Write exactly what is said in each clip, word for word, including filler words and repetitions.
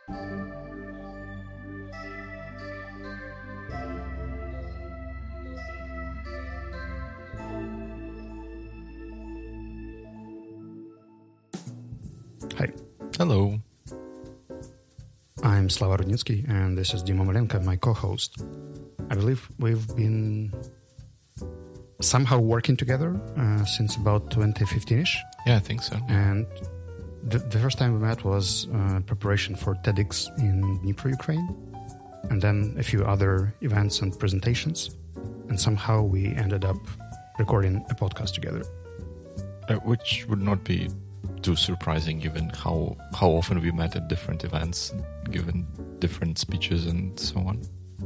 Hi. Hello. I'm Slava Rudnitsky, and this is Dima Malenko, my co-host. I believe we've been somehow working together uh, since about twenty fifteen-ish. Yeah, I think so. And the, the first time we met was uh, preparation for TEDx in Dnipro, Ukraine, and then a few other events and presentations. And somehow we ended up recording a podcast together. Uh, which would not be too surprising given how how often we met at different events, given different speeches and so on.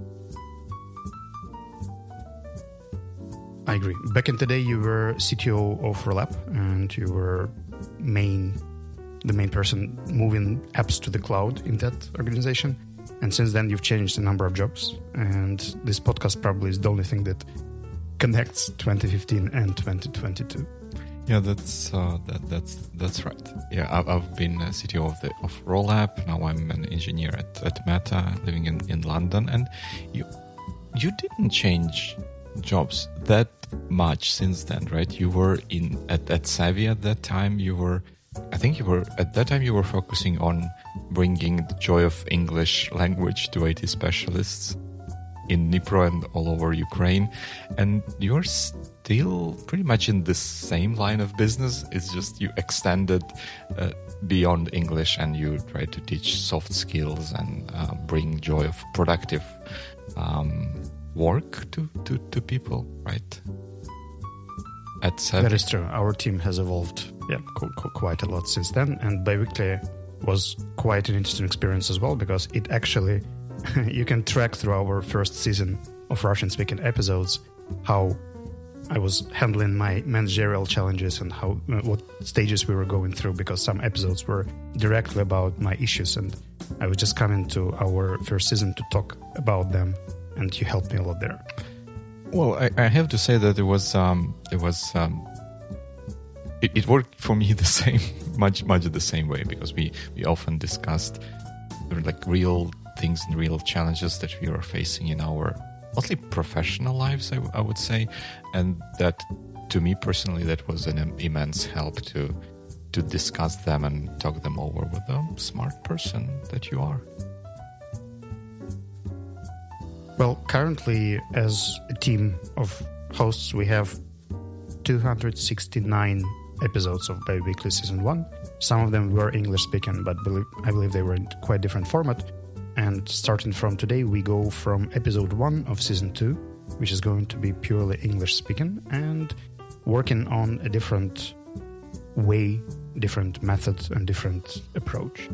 I agree. Back in the day, you were C T O of Rollup, and you were main the main person moving apps to the cloud in that organization. And since then, you've changed a number of jobs. And this podcast probably is the only thing that connects twenty fifteen and twenty twenty-two. Yeah, that's uh, that, that's that's right. Yeah, I've, I've been a C T O of the of Rollup. Now I'm an engineer at, at Meta, living in, in London. And you you didn't change jobs that much since then, right? You were in at, at Savvy at that time. You were, I think you were at that time. You were focusing on bringing the joy of English language to I T specialists in Dnipro and all over Ukraine, and you're still pretty much in the same line of business. It's just you extended uh, beyond English, and you try to teach soft skills and uh, bring joy of productive um, work to, to, to people, right? At Savvy. That is true. Our team has evolved, yeah, qu- qu- quite a lot since then, and Biweekly was quite an interesting experience as well, because it actually you can track through our first season of Russian-speaking episodes how I was handling my managerial challenges and how what stages we were going through, because some episodes were directly about my issues, and I was just coming to our first season to talk about them, and you helped me a lot there. Well, I, I have to say that it was um, it was um, it, it worked for me the same, much much the same way, because we we often discussed like real things and real challenges that we are facing in our mostly professional lives, I, I would say, and that to me personally that was an immense help to to discuss them and talk them over with a smart person that you are. Well, currently as a team of hosts we have two hundred sixty-nine episodes of Biweekly Season one. Some of them were English speaking, but believe, I believe they were in quite different format. And starting from today, we go from episode one of season two, which is going to be purely English speaking, and working on a different way, different method, and different approach.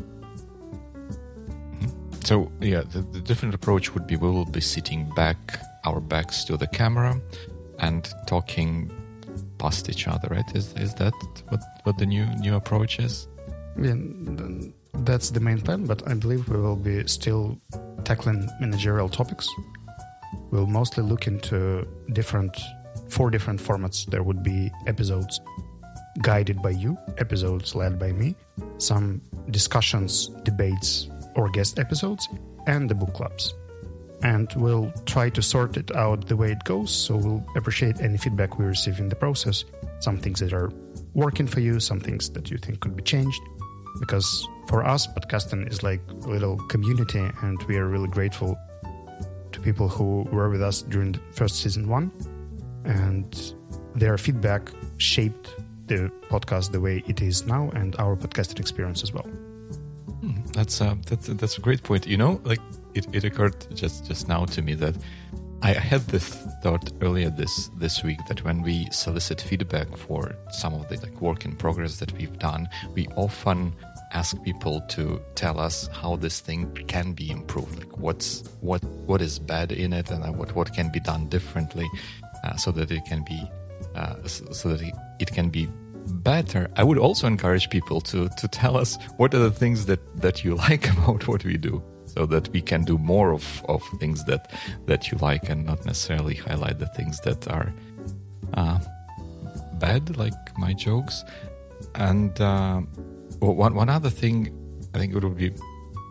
So, yeah, the, the different approach would be we will be sitting back, our backs to the camera, and talking past each other, right? Is is that what, what the new new approach is? Yeah, that's the main plan, but I believe we will be still tackling managerial topics. We'll mostly look into different, four different formats. There would be episodes guided by you, episodes led by me, some discussions, debates, or guest episodes, and the book clubs. And we'll try to sort it out the way it goes, so we'll appreciate any feedback we receive in the process, some things that are working for you, some things that you think could be changed. Because for us, podcasting is like a little community, and we are really grateful to people who were with us during the first season one, and their feedback shaped the podcast the way it is now, and our podcasting experience as well. Hmm, that's uh, that's that's a great point. You know, like it, it occurred just, just now to me that I had this thought earlier this this week that when we solicit feedback for some of the like work in progress that we've done, we often ask people to tell us how this thing can be improved, like what's what what is bad in it, and what what can be done differently, uh, so that it can be uh, so, so that it, it can be better. I would also encourage people to to tell us what are the things that that you like about what we do, so that we can do more of, of things that, that you like, and not necessarily highlight the things that are uh, bad, like my jokes. And uh, one one other thing, I think it would be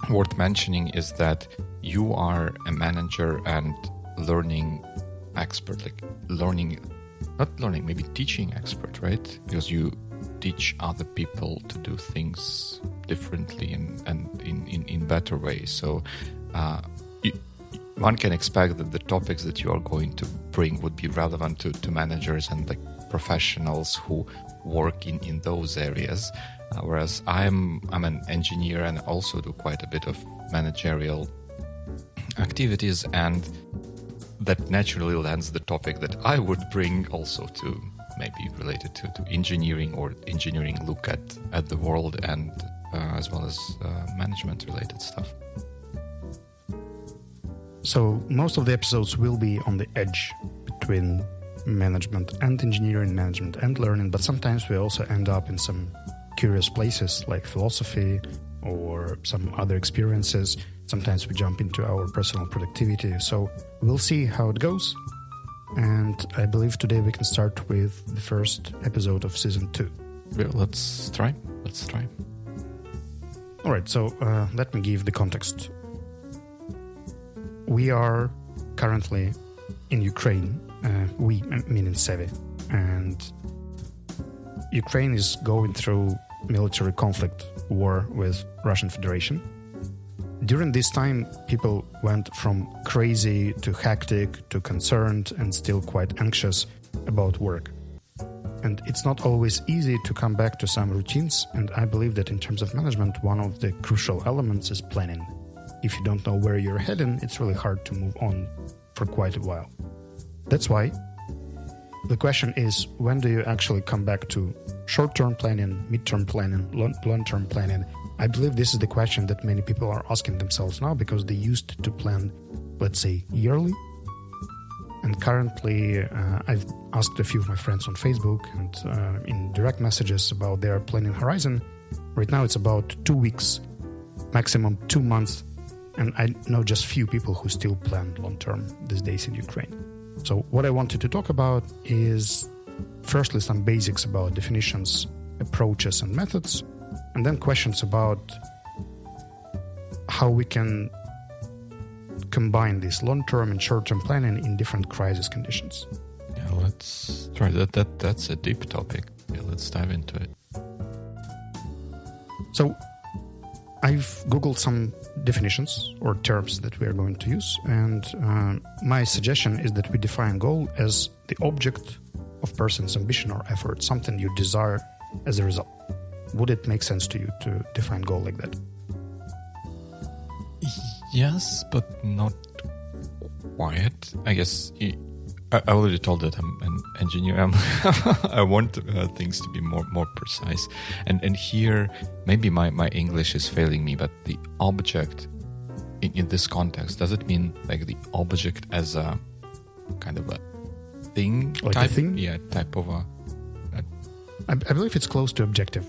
worth mentioning is that you are a manager and learning expert, like learning, not learning, maybe teaching expert, right? Because you teach other people to do things differently and, and in, in, in better ways. So uh, you, one can expect that the topics that you are going to bring would be relevant to, to managers and like professionals who work in, in those areas. Uh, whereas I'm I'm an engineer and also do quite a bit of managerial activities, and that naturally lends the topic that I would bring also to maybe related to, to engineering or engineering look at, at the world, and uh, as well as uh, management related stuff. So most of the episodes will be on the edge between management and engineering, management and learning, but sometimes we also end up in some curious places like philosophy or some other experiences. Sometimes we jump into our personal productivity. So we'll see how it goes. And I believe today we can start with the first episode of season two. Yeah, let's try. Let's try. All right, so uh, let me give the context. We are currently in Ukraine. Uh, we, meaning Sevi. And Ukraine is going through military conflict, war with Russian Federation. During this time, people went from crazy to hectic to concerned and still quite anxious about work. And it's not always easy to come back to some routines, and I believe that in terms of management, one of the crucial elements is planning. If you don't know where you're heading, it's really hard to move on for quite a while. That's why the question is, when do you actually come back to short-term planning, mid-term planning, long-term planning? I believe this is the question that many people are asking themselves now, because they used to plan, let's say, yearly. And currently, uh, I've asked a few of my friends on Facebook and uh, in direct messages about their planning horizon. Right now, it's about two weeks, maximum two months. And I know just few people who still plan long-term these days in Ukraine. So what I wanted to talk about is firstly some basics about definitions, approaches and methods, and then questions about how we can combine this long-term and short-term planning in different crisis conditions. Yeah, let's try that. That that's a deep topic. Yeah, let's dive into it. So I've Googled some definitions or terms that we are going to use, and uh, my suggestion is that we define goal as the object of person's ambition or effort, something you desire as a result. Would it make sense to you to define goal like that? Yes, but not quite. I guess I I already told that I'm an engineer. I'm I want uh, things to be more more precise. And and here, maybe my, my English is failing me, but the object in, in this context, does it mean like the object as a kind of a thing? Like type? a thing? Yeah, type of a... a I, I believe it's close to objective.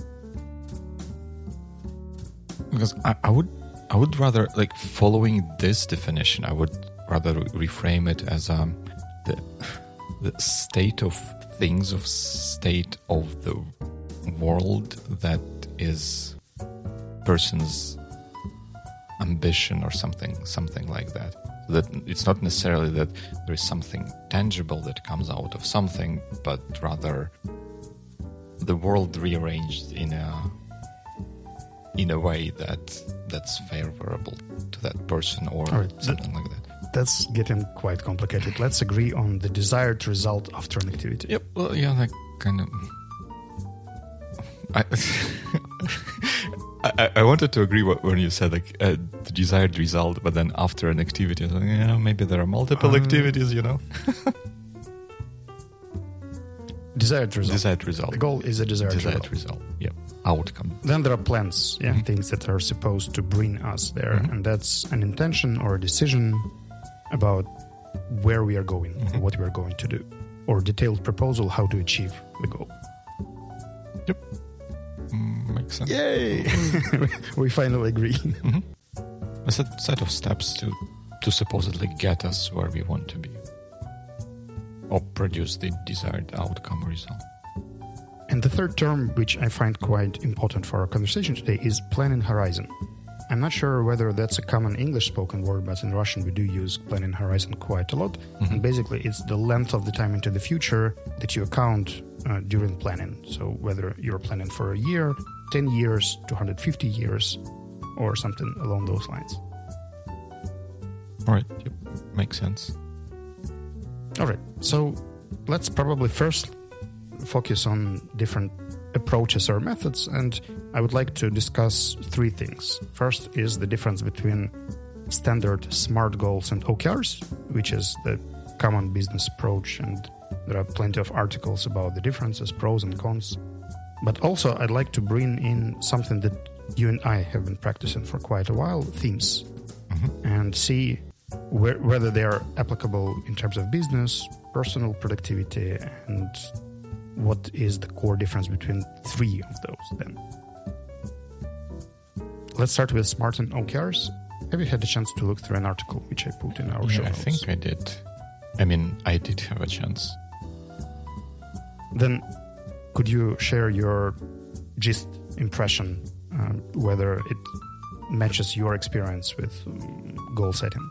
Because I, I would I would rather, like, following this definition, I would rather reframe it as um the the state of things, of state of the world that is person's ambition or something something like that. That it's not necessarily that there is something tangible that comes out of something, but rather the world rearranged in a in a way that that's favorable to that person or right, something that, like that. That's getting quite complicated. Let's agree on the desired result after an activity. Yep. Well, yeah, like kind of. I, I I wanted to agree when you said like uh, the desired result, but then after an activity, I was like, yeah, maybe there are multiple um, activities, you know. Desired result. Desired result. The goal is a desired, desired result. result. Yep. Outcome. Then there are plans, yeah, Mm-hmm. things that are supposed to bring us there, Mm-hmm. and that's an intention or a decision about where we are going, Mm-hmm. or what we are going to do, or detailed proposal how to achieve the goal. Yep. Mm, makes sense. Yay! We finally agree. Mm-hmm. A set, set of steps to to supposedly get us where we want to be, or produce the desired outcome or result. And the third term, which I find quite important for our conversation today, is planning horizon. I'm not sure whether that's a common English-spoken word, but in Russian we do use planning horizon quite a lot. Mm-hmm. And basically it's the length of the time into the future that you account uh, during planning. So whether you're planning for a year, ten years, two hundred fifty years, or something along those lines. All right. Yep. Makes sense. All right. So let's probably first focus on different approaches or methods, and I would like to discuss three things. First is the difference between standard SMART goals and O K Rs, which is the common business approach, and there are plenty of articles about the differences, pros and cons. But also I'd like to bring in something that you and I have been practicing for quite a while, themes, mm-hmm. and see where, whether they are applicable in terms of business, personal productivity, and what is the core difference between three of those then. Let's start with SMART and O K Rs. Have you had a chance to look through an article which I put in our yeah, show I notes? think I did. I mean, I did have a chance. Then could you share your gist impression, uh, whether it matches your experience with um, goal setting?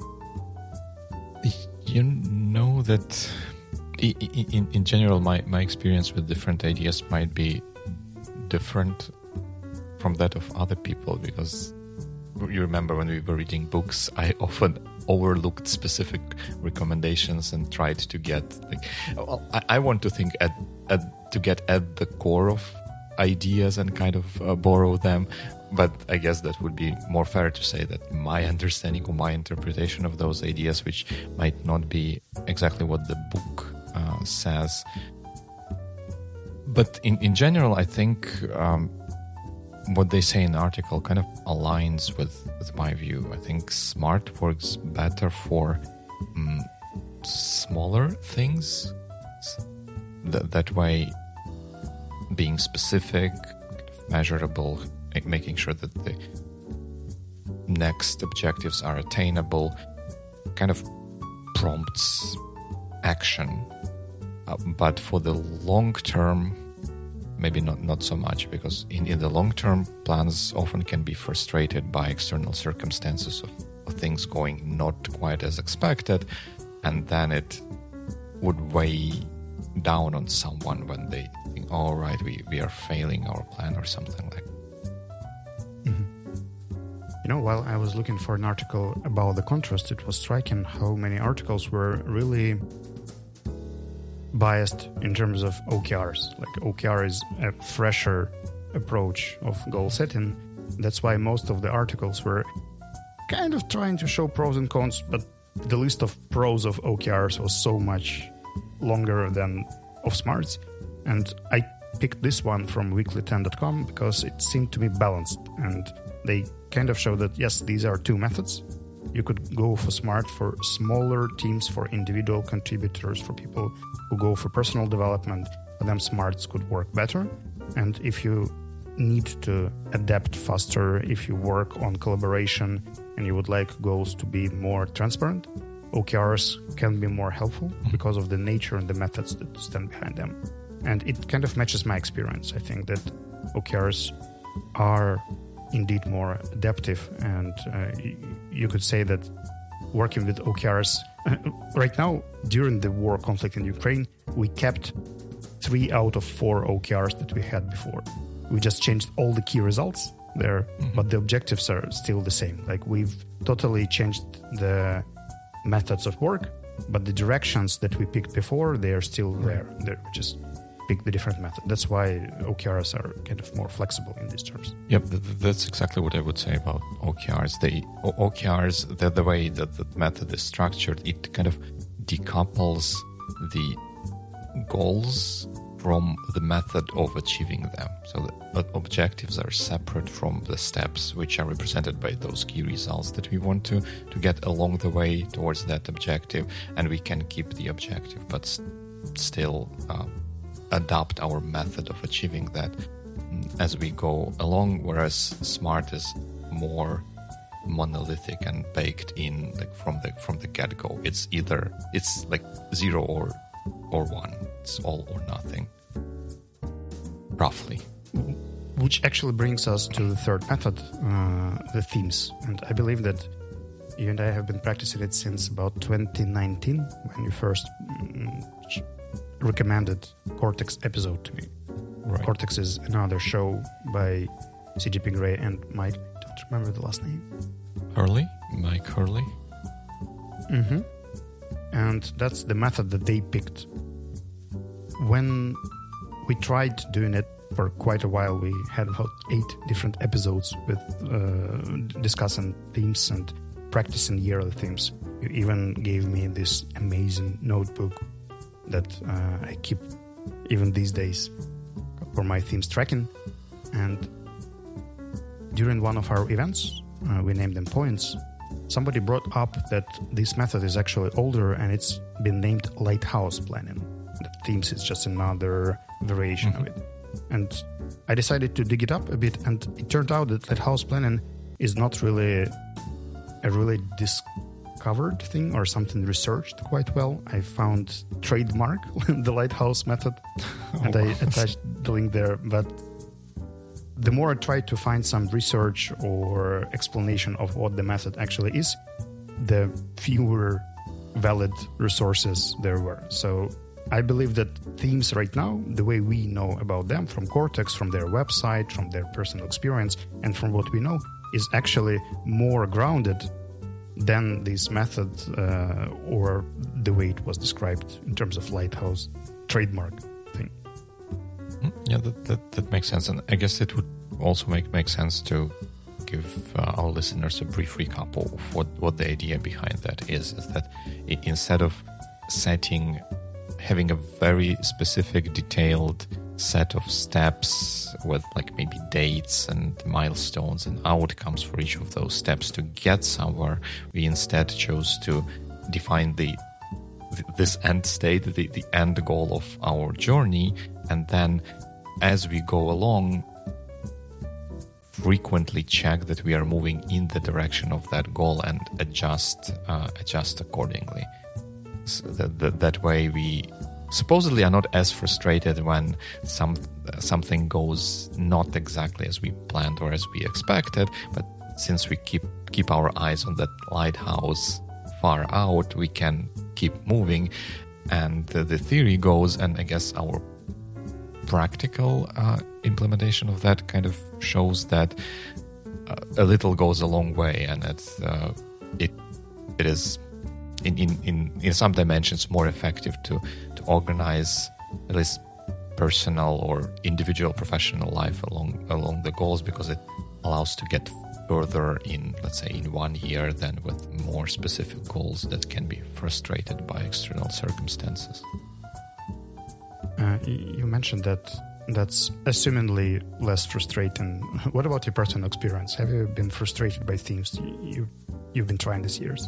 You know that in, in general, my, my experience with different ideas might be different from that of other people, because you remember when we were reading books, I often overlooked specific recommendations and tried to get, like, well, I, I want to think at, at to get at the core of ideas and kind of uh, borrow them. But I guess that would be more fair to say that my understanding or my interpretation of those ideas, which might not be exactly what the book uh, says. But in, in general, I think um, what they say in the article kind of aligns with, with my view. I think SMART works better for um, smaller things. Th- that way, being specific, measurable, making sure that the next objectives are attainable, kind of prompts action. Uh, but for the long term, maybe not, not so much, because in, in the long term, plans often can be frustrated by external circumstances of, of things going not quite as expected, and then it would weigh down on someone when they think, oh, right, we, we are failing our plan or something like that. Mm-hmm. You know, while I was looking for an article about the contrast, it was striking how many articles were really biased in terms of O K Rs. Like O K R is a fresher approach of goal setting. That's why most of the articles were kind of trying to show pros and cons, but the list of pros of O K Rs was so much longer than of SMARTs. And I picked this one from weekly ten dot com because it seemed to be balanced, and they kind of show that yes, these are two methods. You could go for SMART for smaller teams, for individual contributors, for people who go for personal development. For them, SMARTs could work better. And if you need to adapt faster, if you work on collaboration and you would like goals to be more transparent, O K Rs can be more helpful because of the nature and the methods that stand behind them. And it kind of matches my experience. I think that O K Rs are indeed more adaptive, and uh, you could say that working with O K Rs uh, right now, during the war conflict in Ukraine, we kept three out of four O K Rs that we had before. We just changed all the key results there, mm-hmm. but the objectives are still the same. Like, we've totally changed the methods of work, but the directions that we picked before, they are still there. They're just pick the different method. That's why O K Rs are kind of more flexible in these terms. Yep, th- that's exactly what I would say about O K Rs. They o- O K Rs, the, the way that the method is structured, it kind of decouples the goals from the method of achieving them. So the objectives are separate from the steps, which are represented by those key results that we want to, to get along the way towards that objective, and we can keep the objective, but st- still uh, adapt our method of achieving that as we go along, whereas SMART is more monolithic and baked in, like from the from the get-go. It's either it's like zero or or one. It's all or nothing, roughly. which actually brings us to the third method, uh, the themes. And I believe that you and I have been practicing it since about twenty nineteen, when you first mm, recommended Cortex episode to me. Right. Cortex is another show by C G P Grey and Mike, I don't remember the last name. Hurley? Mike Hurley? Mm-hmm. And that's the method that they picked. When we tried doing it for quite a while, we had about eight different episodes with uh, discussing themes and practicing yearly themes. You even gave me this amazing notebook that uh, I keep even these days for my themes tracking. And during one of our events, uh, we named them points, somebody brought up that this method is actually older and it's been named lighthouse planning. The themes is just another variation mm-hmm. of it. And I decided to dig it up a bit, and it turned out that lighthouse planning is not really a really discovered thing or something researched quite well. I found trademark the lighthouse method, oh, and wow. I attached the link there. But the more I tried to find some research or explanation of what the method actually is, the fewer valid resources there were. So I believe that themes right now, the way we know about them from Cortex, from their website, from their personal experience, and from what we know, is actually more grounded than this method uh, or the way it was described in terms of lighthouse trademark thing. Yeah, that, that, that makes sense. And I guess it would also make, make sense to give uh, our listeners a brief recap of what, what the idea behind that is, is that it, instead of setting having a very specific, detailed set of steps with like maybe dates and milestones and outcomes for each of those steps to get somewhere, we instead chose to define the this end state, the, the end goal of our journey, and then as we go along, frequently check that we are moving in the direction of that goal and adjust uh, adjust accordingly. So that, that, that way we supposedly are not as frustrated when some something goes not exactly as we planned or as we expected, but since we keep keep our eyes on that lighthouse far out, we can keep moving. And the, the theory goes, and I guess our practical uh, implementation of that kind of shows that uh, a little goes a long way, and it's, uh, it it is in, in, in, in some dimensions more effective to, to organize at least personal or individual professional life along along the goals, because it allows to get further in, let's say, in one year than with more specific goals that can be frustrated by external circumstances. Uh, you mentioned that that's assumingly less frustrating. What about your personal experience? Have you been frustrated by themes you, you've been trying these years?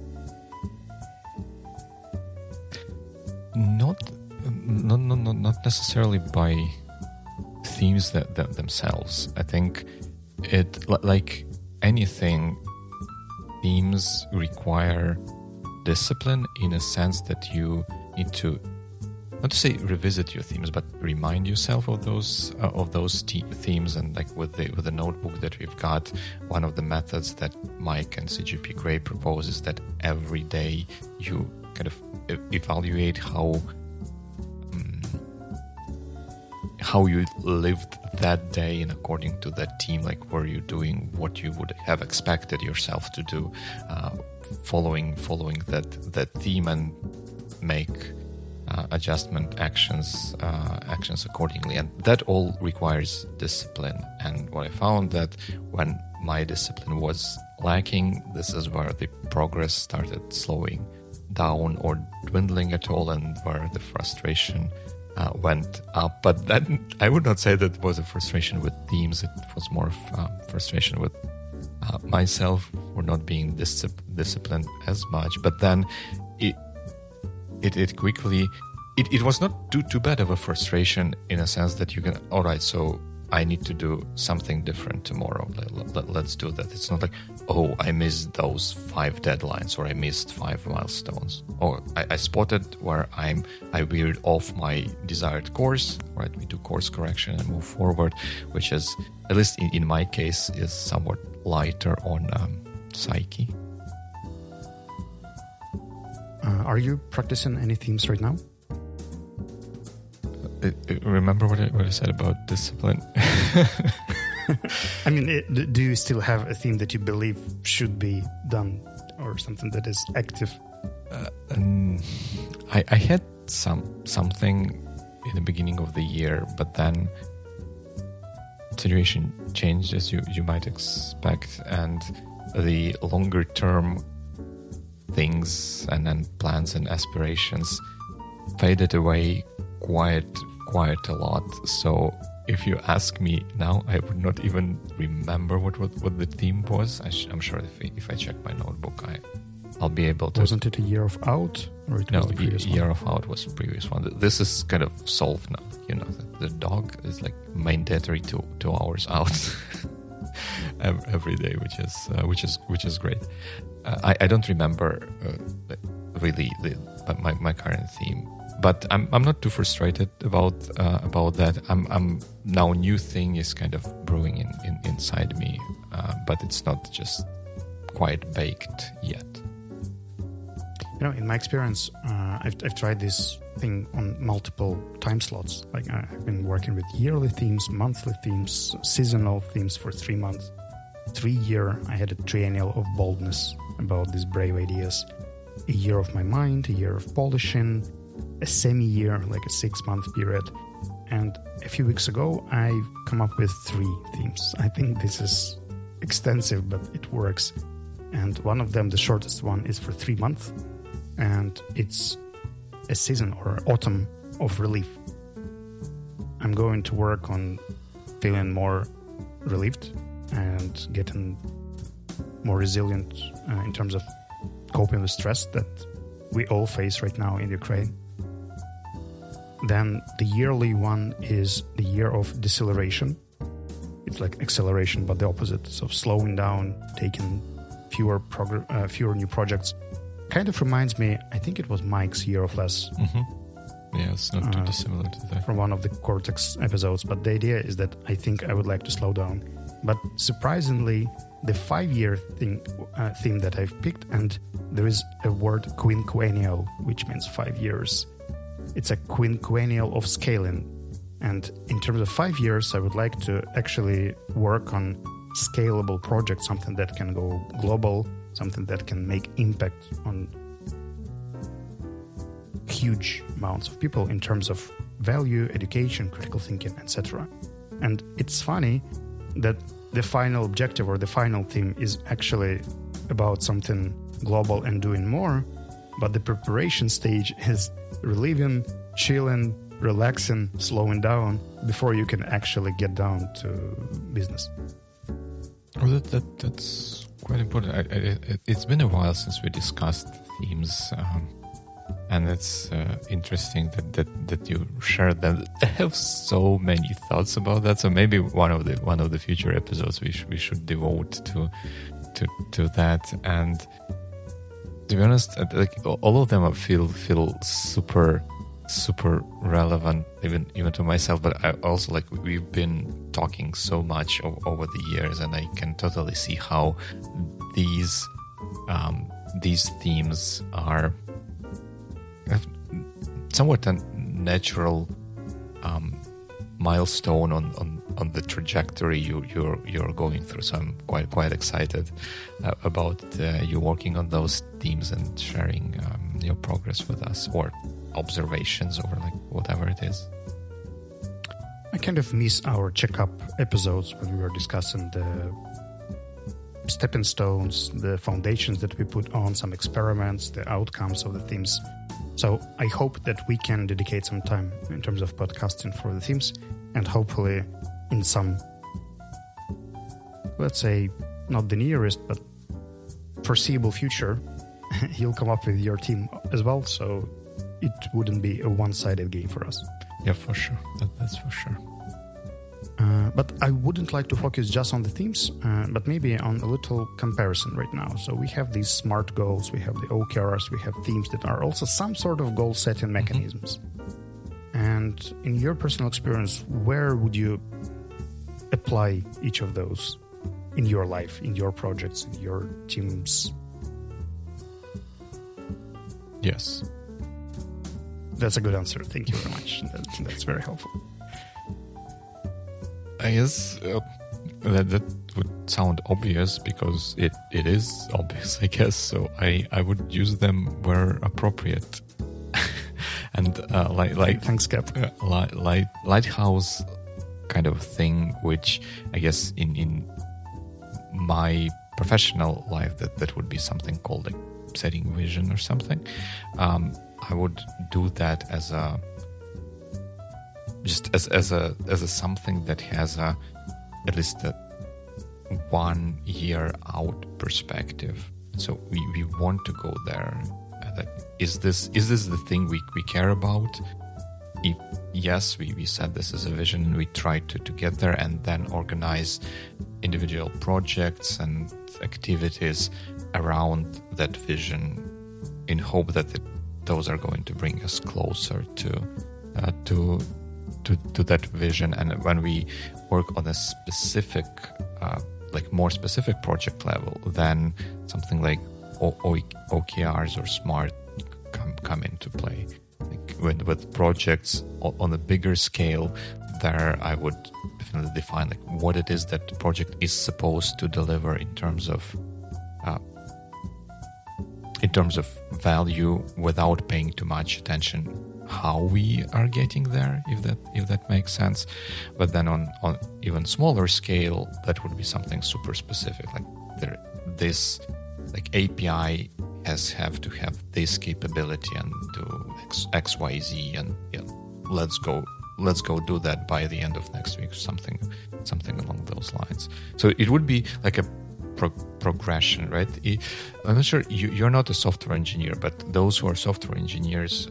Not, not, not, not necessarily by themes that, that themselves. I think it, like anything, themes require discipline in a sense that you need to, not to say revisit your themes, but remind yourself of those uh, of those te- themes. And like with the with the notebook that we've got, one of the methods that Mike and C G P Grey propose is that every day you kind of e- evaluate how um, how you lived that day, and according to that theme, like were you doing what you would have expected yourself to do, uh, following following that that theme, and make Uh, adjustment actions uh, actions accordingly. And that all requires discipline. And what I found that when my discipline was lacking, this is where the progress started slowing down or dwindling at all, and where the frustration uh, went up. But that, I would not say that was a frustration with themes. It was more of uh, frustration with uh, myself for not being dis- disciplined as much. But then it It, it quickly, it, it was not too, too bad of a frustration in a sense that you can, all right, so I need to do something different tomorrow. Let, let, let's do that. It's not like, oh, I missed those five deadlines, or I missed five milestones, or I, I spotted where I'm I veered off my desired course. Right, we do course correction and move forward, which is, at least in, in my case, is somewhat lighter on um, psyche. Uh, are you practicing any themes right now? Uh, uh, remember what I, what I said about discipline? I mean, it, do you still have a theme that you believe should be done, or something that is active? Uh, um, I, I had some something in the beginning of the year, but then situation changed, as you, you might expect, and the longer term things and then plans and aspirations faded away quite quite a lot. So if you ask me now, I would not even remember what what, what the theme was. I sh- I'm sure if I, if I check my notebook, I I'll be able to. Wasn't it a year of out, or it no, was the previous year one? of out was the previous one. This is kind of solved now. You know, the, the dog is like mandatory two two hours out every day, which is uh, which is which is great. Uh, I I don't remember uh, really the my my current theme, but I'm I'm not too frustrated about uh, about that. I'm I'm now new thing is kind of brewing in, in inside me, uh, but it's not just quite baked yet. You know, in my experience, uh, I've, I've tried this thing on multiple time slots. Like I've been working with yearly themes, monthly themes, seasonal themes for three months. Three year, I had a triennial of boldness about these brave ideas. A year of my mind, a year of polishing, a semi-year, like a six-month period. And a few weeks ago, I've come up with three themes. I think this is extensive, but it works. And one of them, the shortest one, is for three months. And it's a season or autumn of relief. I'm going to work on feeling more relieved and getting more resilient uh, in terms of coping with stress that we all face right now in Ukraine. Then the yearly one is the year of deceleration. It's like acceleration, but the opposite. So slowing down, taking fewer progr- uh, fewer new projects. Kind of reminds me, I think it was Mike's Year of Less. Mm-hmm. Yeah, it's not too uh, dissimilar to that. From one of the Cortex episodes. But the idea is that I think I would like to slow down. But surprisingly, the five-year thing, uh, theme that I've picked, and there is a word quinquennial, which means five years. It's a quinquennial of scaling. And in terms of five years, I would like to actually work on scalable projects, something that can go global, something that can make impact on huge amounts of people in terms of value, education, critical thinking, et cetera. And it's funny that the final objective or the final theme is actually about something global and doing more, but the preparation stage is relieving, chilling, relaxing, slowing down before you can actually get down to business. Oh, that, that that's quite important. I, I, it's been a while since we discussed themes, um, and it's uh, interesting that, that, that you shared them. I have so many thoughts about that. So maybe one of the one of the future episodes we sh- we should devote to to to that. And to be honest, like all of them, I feel feel super. super relevant even even to myself, but I also like we've been talking so much o- over the years, and I can totally see how these um, these themes are somewhat a natural um, milestone on, on, on the trajectory you you're you're going through. So I'm quite quite excited uh, about uh, you working on those themes and sharing um, your progress with us, or observations, or like whatever it is. I kind of miss our checkup episodes when we were discussing the stepping stones, the foundations that we put on, some experiments, the outcomes of the themes. So I hope that we can dedicate some time in terms of podcasting for the themes, and hopefully in some, let's say, not the nearest, but foreseeable future, you'll come up with your team as well. So it wouldn't be a one-sided game for us. Yeah, for sure. That, that's for sure. Uh, but I wouldn't like to focus just on the themes, uh, but maybe on a little comparison right now. So we have these SMART goals, we have the O K Rs, we have themes that are also some sort of goal-setting mechanisms. Mm-hmm. And in your personal experience, where would you apply each of those in your life, in your projects, in your teams? Yes. That's a good answer. Thank you very much. That, that's very helpful. I guess uh, that, that would sound obvious because it, it is obvious, I guess. So I, I would use them where appropriate. and uh, like like thanks, Cap. Uh, light, light, lighthouse kind of thing, which I guess in in my professional life that, that would be something called like setting vision or something. Um, I would do that as a just as as a as a something that has a at least a one year out perspective. So we, we want to go there. That is this is this the thing we, we care about? If yes, we, we set this as a vision and we try to, to get there and then organize individual projects and activities around that vision in hope that it, those are going to bring us closer to uh, to to to that vision. And when we work on a specific uh, like more specific project level, then something like o- o- O K Rs or SMART come come into play. Like with, with projects on a bigger scale, there I would definitely define like what it is that the project is supposed to deliver in terms of uh, in terms of value, without paying too much attention how we are getting there, if that if that makes sense. But then on, on even smaller scale, that would be something super specific, like there this like A P I has have to have this capability and do X, X Y, Z, and yeah, let's go let's go do that by the end of next week, or something something along those lines. So it would be like a pro- progression, right? I'm not sure, you, you're not a software engineer, but those who are software engineers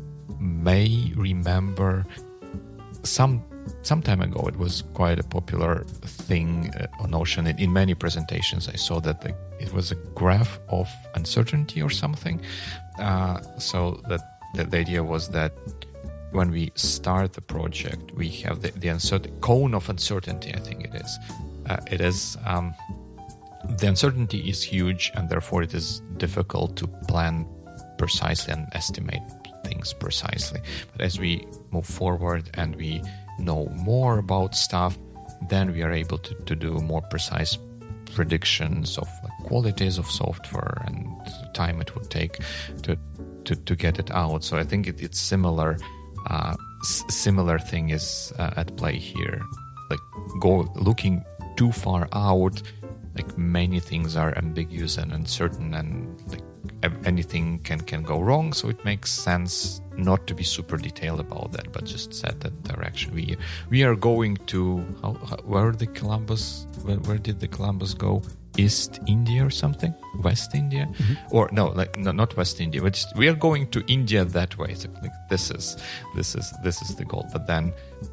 may remember some some time ago it was quite a popular thing uh, on Notion. In, in many presentations I saw that the, it was a graph of uncertainty or something. Uh, so that, that the idea was that when we start the project, we have the, the uncertain cone of uncertainty, I think it is. Uh, it is um, the uncertainty is huge, and therefore it is difficult to plan precisely and estimate things precisely. But as we move forward and we know more about stuff, then we are able to, to do more precise predictions of like, qualities of software and time it would take to to, to get it out. So I think it, it's similar. Uh, s- similar thing is uh, at play here. Like go looking too far out, like many things are ambiguous and uncertain, and like anything can, can go wrong. So it makes sense not to be super detailed about that, but just set that direction. We we are going to how, how, where the Columbus where, where did the Columbus go? East India or something? West India? Mm-hmm. Or no, like no, not West India. But just, we are going to India that way. So like, this is this is this is the goal. But then,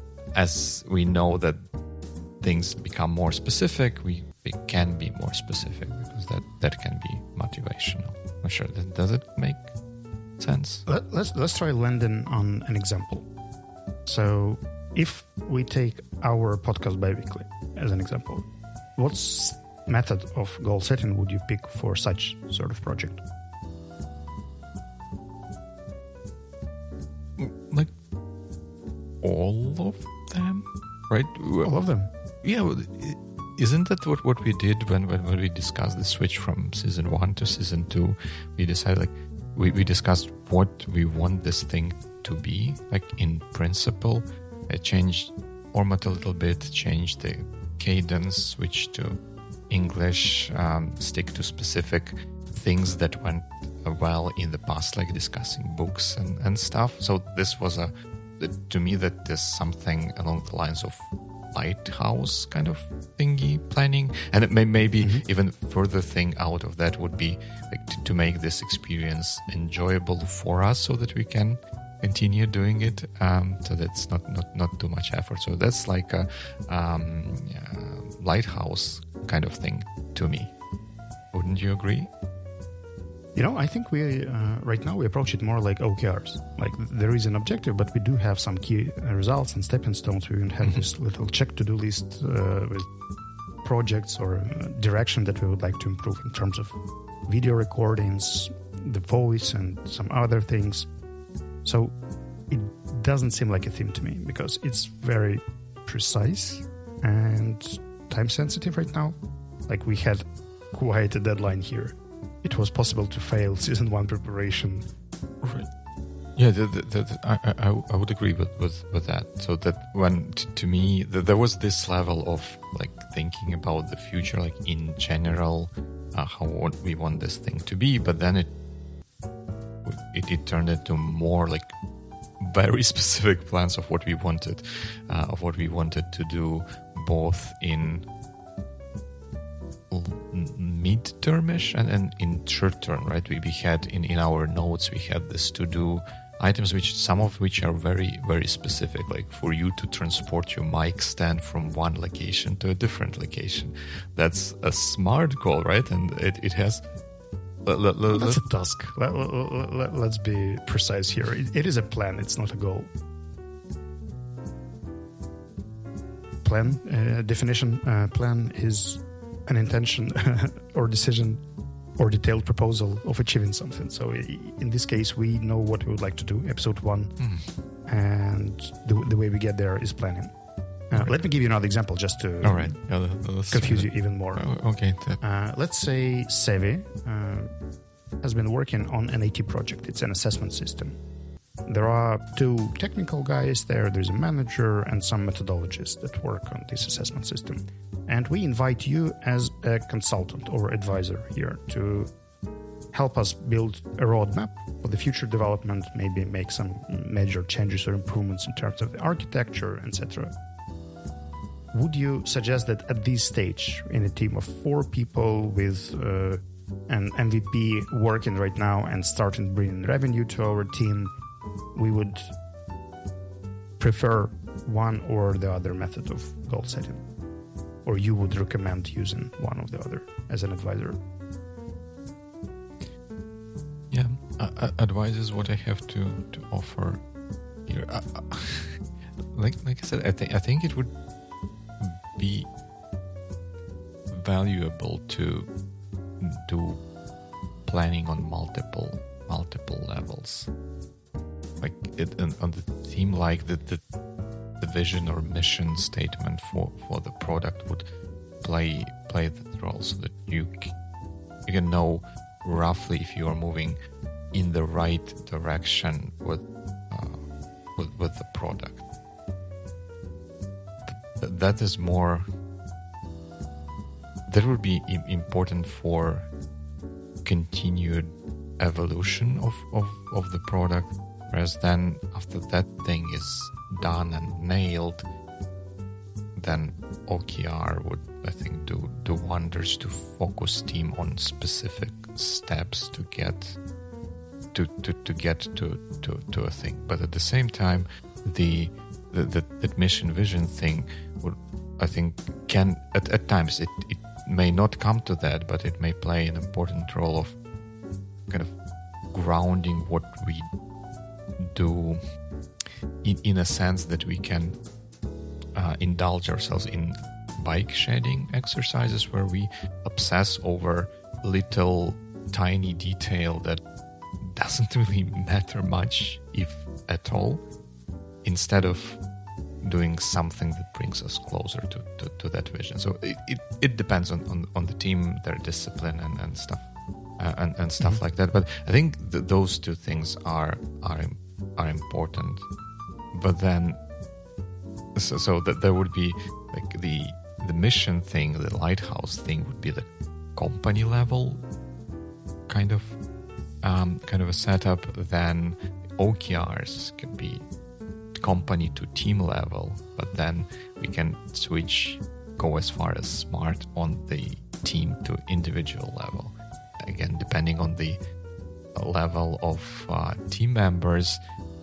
as we know that things become more specific, we, we can be more specific, because that, that can be motivational. I'm sure that does it make sense? Let, let's let's try landing on an example. So, if we take our podcast biweekly as an example, what's method of goal setting would you pick for such sort of project? Like all of them, right? All of them. Yeah, isn't that what, what we did when, when, when we discussed the switch from season one to season two? We decided, like, we, we discussed what we want this thing to be, like in principle. I changed format a little bit, changed the cadence, switched to English, um, stick to specific things that went well in the past, like discussing books and, and stuff. So this was a, to me, that is something along the lines of lighthouse kind of thingy planning. And it may, maybe mm-hmm. even further thing out of that would be like to, to make this experience enjoyable for us, so that we can continue doing it. Um, so that's not, not, not too much effort. So that's like a um, uh, lighthouse kind of thing to me. Wouldn't you agree? You know, I think we, uh, right now, we approach it more like O K Rs. Like, there is an objective, but we do have some key uh, results and stepping stones. We even have mm-hmm. this little check-to-do list uh, with projects or uh, direction that we would like to improve in terms of video recordings, the voice, and some other things. So it doesn't seem like a theme to me because it's very precise and time-sensitive right now. Like, we had quite a deadline here. It was possible to fail season one preparation. Right. Yeah, the, the, the, I, I I would agree with, with, with that. So that when t- to me the, there was this level of like thinking about the future, like in general, uh, how what we want this thing to be. But then it it, it turned into more like very specific plans of what we wanted, uh, of what we wanted to do, both in mid-termish and, and in short term, right? We, we had in, in our notes, we had this to-do items, which some of which are very, very specific, like for you to transport your mic stand from one location to a different location. That's a smart goal, right? And it, it has... L- l- l- That's a task. Let, let, let, let's be precise here. It, it is a plan, it's not a goal. Plan, uh, definition, uh, plan is an intention or decision or detailed proposal of achieving something. So in this case, we know what we would like to do, episode one, mm. and the, the way we get there is planning. Uh, right. Let me give you another example just to All right. yeah, confuse you even more. Oh, okay. Uh, let's say Sevi uh, has been working on an A T project. It's an assessment system. There are two technical guys there. There's a manager and some methodologists that work on this assessment system. And we invite you as a consultant or advisor here to help us build a roadmap for the future development, maybe make some major changes or improvements in terms of the architecture, et cetera. Would you suggest that at this stage, in a team of four people with uh, an M V P working right now and starting bringing revenue to our team, we would prefer one or the other method of goal setting? Or you would recommend using one or the other as an advisor? Yeah, uh, advice is what I have to, to offer here. Uh, uh, like like I said, I think I think it would be valuable to do planning on multiple multiple levels. Like it on the theme, like the the. the vision or mission statement for, for the product would play play that role, so that you you can know roughly if you are moving in the right direction with uh, with, with the product. Th- that is more. That would be I- important for continued evolution of, of, of the product, whereas then after that thing is done and nailed, then O K R would, I think, do do wonders to focus team on specific steps to get to to, to get to, to, to a thing. But at the same time, the the, the that mission vision thing would, I think, can at, at times it, it may not come to that, but it may play an important role of kind of grounding what we do. In, in a sense that we can uh, indulge ourselves in bike shedding exercises where we obsess over little tiny detail that doesn't really matter much, if at all, instead of doing something that brings us closer to, to, to that vision. So it, it, it depends on, on, on the team, their discipline and, and stuff uh, and, and stuff mm-hmm. like that. But I think th- those two things are are are important. But then, so, so that there would be like the the mission thing, the lighthouse thing would be the company level kind of um, kind of a setup. Then O K Rs can be company to team level, but then we can switch, go as far as smart on the team to individual level. Again, depending on the level of uh, team members,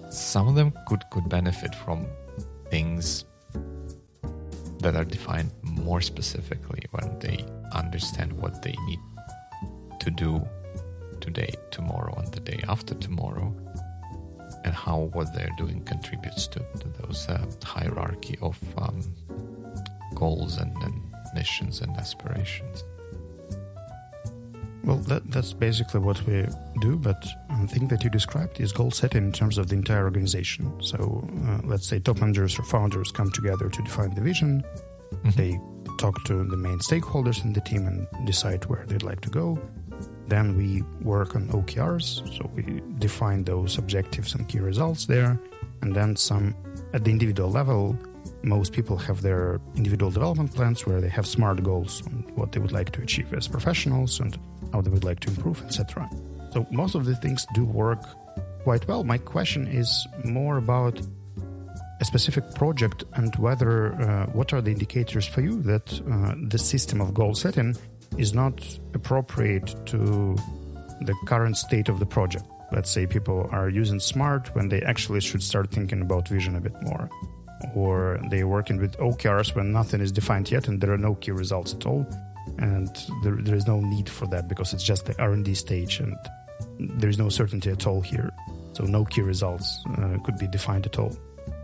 some of them could, could benefit from things that are defined more specifically when they understand what they need to do today, tomorrow, and the day after tomorrow, and how what they're doing contributes to, to those uh, hierarchy of um, goals and, and missions and aspirations. Well, that, that's basically what we do, but the thing that you described is goal setting in terms of the entire organization. So uh, let's say top managers or founders come together to define the vision. Mm-hmm. They talk to the main stakeholders in the team and decide where they'd like to go. Then we work on O K Rs, so we define those objectives and key results there. And then some, at the individual level, most people have their individual development plans where they have SMART goals on what they would like to achieve as professionals and how they would like to improve, et cetera. So most of the things do work quite well. My question is more about a specific project and whether, uh, what are the indicators for you that uh, the system of goal setting is not appropriate to the current state of the project. Let's say people are using SMART when they actually should start thinking about vision a bit more. Or they're working with O K Rs when nothing is defined yet and there are no key results at all. And there, there is no need for that because it's just the R and D stage and there is no certainty at all here. So no key results uh, could be defined at all.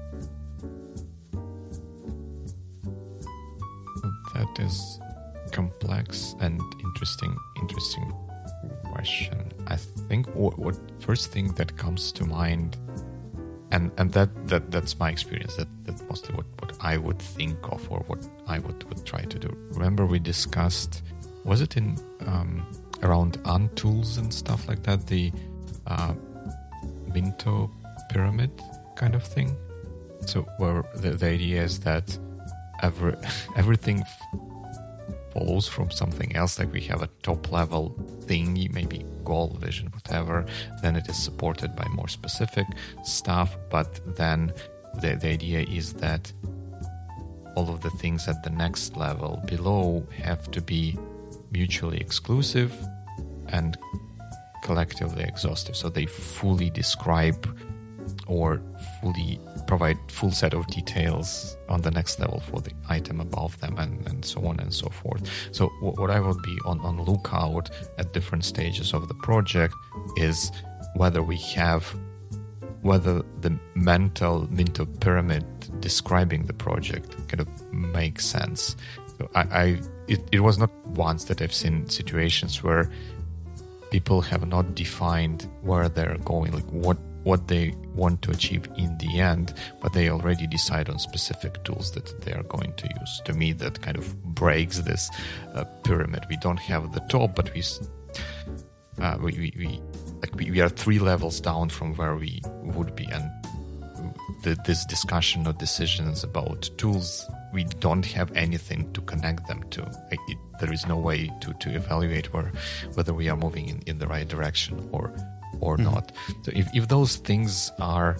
That is complex and interesting, interesting question. I think what, what first thing that comes to mind, and and that, that that's my experience, that that's mostly what, what I would think of or what I would, would try to do. Remember we discussed, was it in um, around untools and stuff like that, the uh, Minto pyramid kind of thing? So where the, the idea is that every, everything follows from something else, like we have a top level thing, maybe goal, vision, whatever, then it is supported by more specific stuff, but then the, the idea is that all of the things at the next level below have to be mutually exclusive and collectively exhaustive, so they fully describe or fully provide full set of details on the next level for the item above them, and, and so on and so forth. So what, what I would be on, on lookout at different stages of the project is whether we have, whether the mental Minto pyramid describing the project kind of makes sense. So I, I it, it was not once that I've seen situations where people have not defined where they're going, like what what they want to achieve in the end, but they already decide on specific tools that they are going to use. To me, that kind of breaks this uh, pyramid. We don't have the top, but we uh, we, we, we like we, we are three levels down from where we would be, and the, this discussion or decisions about tools, we don't have anything to connect them to. It, it, there is no way to, to evaluate where whether we are moving in, in the right direction or or mm-hmm. not. So if, if those things are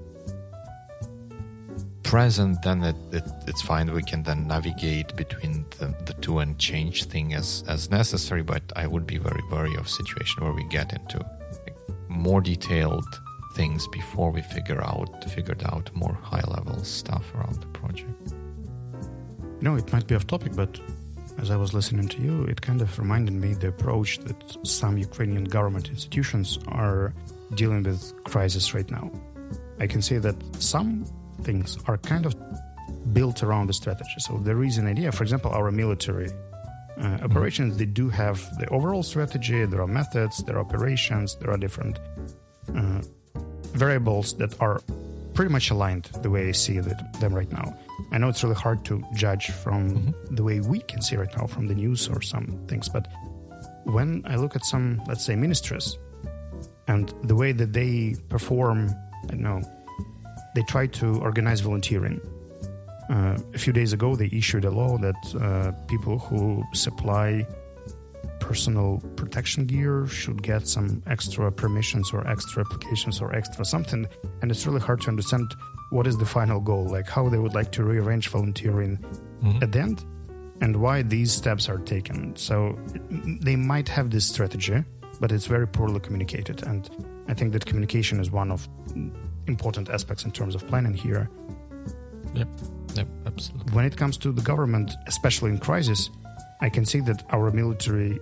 present, then it, it, it's fine. We can then navigate between the, the two and change things as, as necessary, but I would be very wary of situation where we get into like, more detailed things before we figure out figured out more high-level stuff around the project. You know, it might be off topic, but as I was listening to you, it kind of reminded me the approach that some Ukrainian government institutions are dealing with crisis right now. I can say that some things are kind of built around the strategy. So there is an idea, for example, our military uh, operations, they do have the overall strategy, there are methods, there are operations, there are different uh, variables that are pretty much aligned the way I see them right now. I know it's really hard to judge from mm-hmm. the way we can see right now from the news or some things, but when I look at some, let's say, ministries and the way that they perform, I don't know, they try to organize volunteering. Uh, a few days ago, they issued a law that uh, people who supply personal protection gear should get some extra permissions or extra applications or extra something, and it's really hard to understand what is the final goal, like how they would like to rearrange volunteering mm-hmm. at the end, and why these steps are taken. So they might have this strategy, but it's very poorly communicated, and I think that communication is one of important aspects in terms of planning here. Yep, yep, absolutely. When it comes to the government, especially in crisis, I can see that our military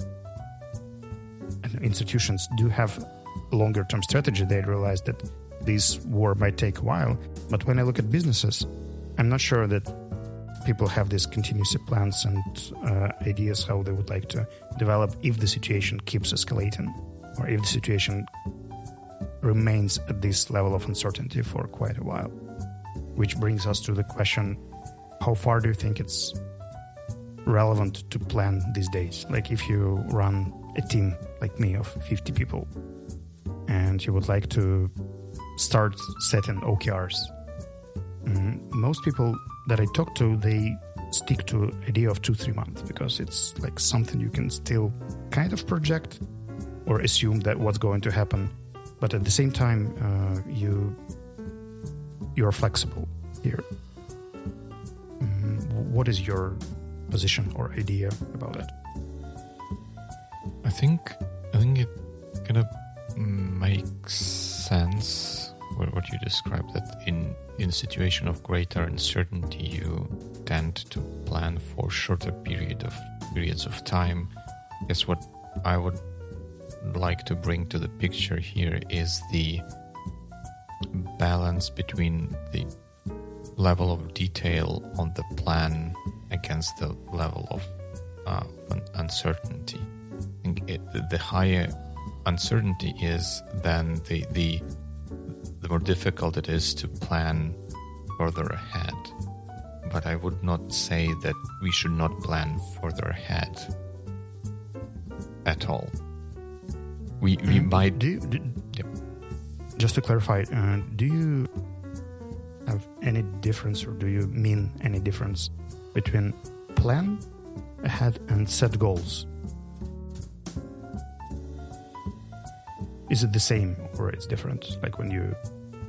institutions do have a longer-term strategy. They realize that this war might take a while. But when I look at businesses, I'm not sure that people have these contingency plans and uh, ideas how they would like to develop if the situation keeps escalating or if the situation remains at this level of uncertainty for quite a while. Which brings us to the question, how far do you think it's relevant to plan these days? Like if you run a team like me of fifty people and you would like to start setting O K Rs. Mm, most people that I talk to, they stick to idea of two, three months because it's like something you can still kind of project or assume that what's going to happen. But at the same time, uh, you you're flexible here. Mm, what is your position or idea about that? I think I think it kind of makes sense what, what you described, that in in a situation of greater uncertainty you tend to plan for shorter period of periods of time. I guess what I would like to bring to the picture here is the balance between the level of detail on the plan against the level of uh, uncertainty. I think it, the higher uncertainty is, then the, the the more difficult it is to plan further ahead. But I would not say that we should not plan further ahead at all. We we Mm, might do you, do, Yep. just to clarify, uh, do you have any difference or do you mean any difference between plan ahead and set goals? Is it the same or it's different? Like when you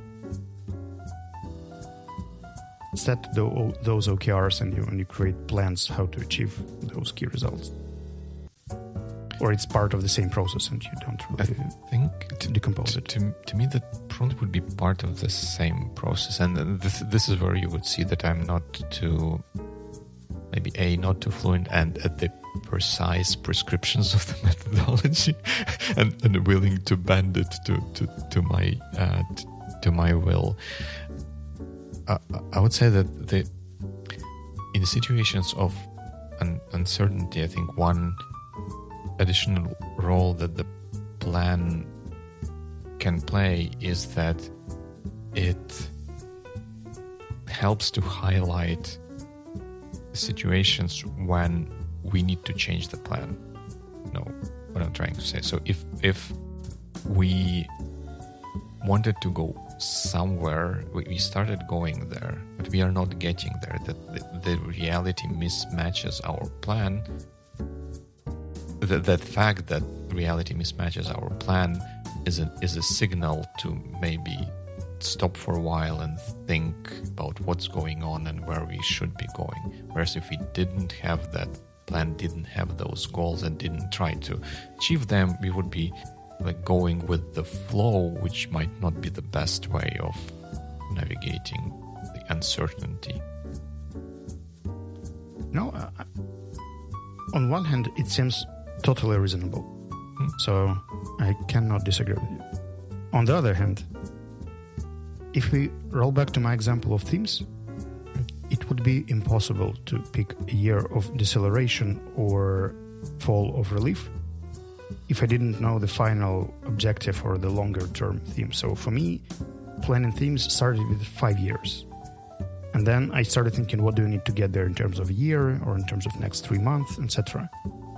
set the, those O K Rs and you, and you create plans how to achieve those key results? Or it's part of the same process and you don't I really think decompose to, it? to, to me that probably would be part of the same process. And this, this is where you would see that I'm not too, maybe A, not too fluent and at the precise prescriptions of the methodology and, and willing to bend it to, to, to my uh, to, to my will. Uh, I would say that the in situations of un- uncertainty, I think one additional role that the plan can play is that it helps to highlight situations when we need to change the plan. No, what I'm trying to say. So if if we wanted to go somewhere, we, we started going there, but we are not getting there, that the, the reality mismatches our plan, that, that fact that reality mismatches our plan is a, is a signal to maybe stop for a while and think about what's going on and where we should be going. Whereas if we didn't have that plan, didn't have those goals and didn't try to achieve them, we would be like going with the flow, which might not be the best way of navigating the uncertainty. No, uh, on one hand, it seems totally reasonable. Hmm. So I cannot disagree with you. On the other hand, if we roll back to my example of themes, it would be impossible to pick a year of deceleration or fall of relief if I didn't know the final objective or the longer term theme. So for me, planning themes started with five years. And then I started thinking, what do I need to get there in terms of a year or in terms of next three months, et cetera.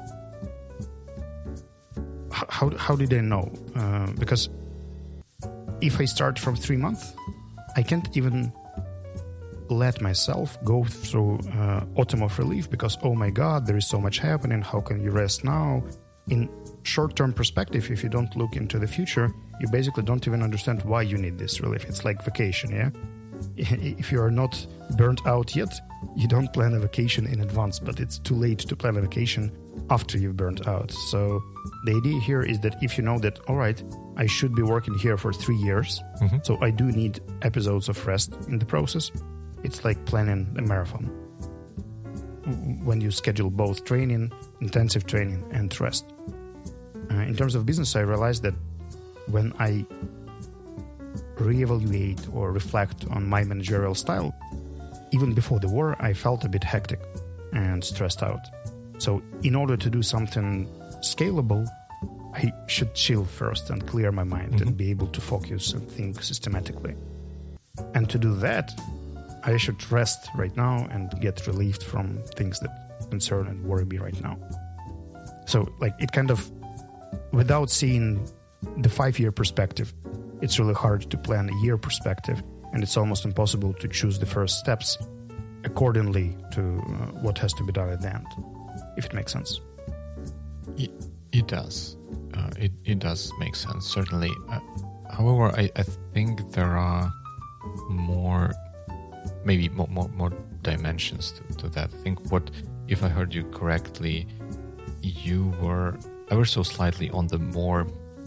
How, how did I know? Uh, because if I start from three months, I can't even let myself go through uh, autumn of relief because, oh my God, there is so much happening. How can you rest now? In short-term perspective, if you don't look into the future, you basically don't even understand why you need this relief. It's like vacation, yeah? If you are not burnt out yet, you don't plan a vacation in advance, but it's too late to plan a vacation after you've burned out. So the idea here is that if you know that, all right, I should be working here for three years, mm-hmm. so I do need episodes of rest in the process. It's like planning a marathon. When you schedule both training, intensive training, and rest. Uh, in terms of business, I realized that when I reevaluate or reflect on my managerial style, even before the war, I felt a bit hectic and stressed out. So in order to do something scalable, I should chill first and clear my mind mm-hmm. and be able to focus and think systematically. And to do that, I should rest right now and get relieved from things that concern and worry me right now. So like it kind of, without seeing the five-year perspective, it's really hard to plan a year perspective, and it's almost impossible to choose the first steps accordingly to uh, what has to be done at the end, if it makes sense. It, it does. Uh, it, it does make sense, certainly. Uh, however, I, I think there are more, maybe more, more, more dimensions to, to that. I think what, if I heard you correctly, you were ever so slightly on the more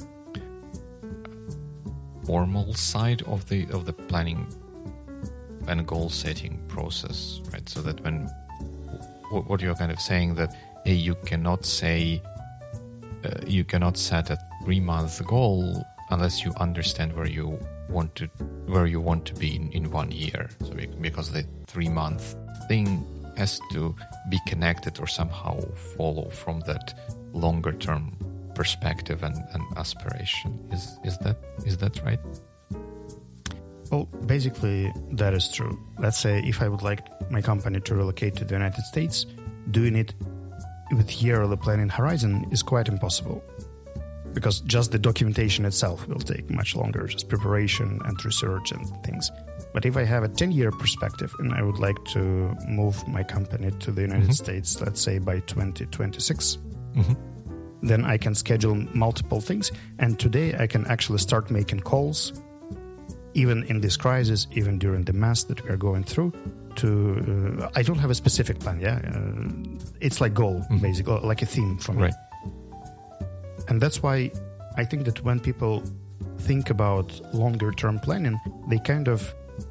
formal side of the of the planning and goal setting process, right? So that when what you're kind of saying that hey, you cannot say uh, you cannot set a three month goal unless you understand where you want to where you want to be in, in one year. So because the three month thing has to be connected or somehow follow from that longer term perspective and, and aspiration. Is is that is that right? Well, basically that is true. Let's say if I would like my company to relocate to the United States, doing it with yearly planning horizon is quite impossible. Because just the documentation itself will take much longer, just preparation and research and things. But if I have a ten-year perspective and I would like to move my company to the United mm-hmm. States, let's say by twenty twenty-six, mm-hmm. then I can schedule multiple things. And today I can actually start making calls, even in this crisis, even during the mess that we are going through, to... Uh, I don't have a specific plan, yeah? Uh, it's like goal, mm-hmm. basically, like a theme for me. Right. And that's why I think that when people think about longer-term planning, they kind of,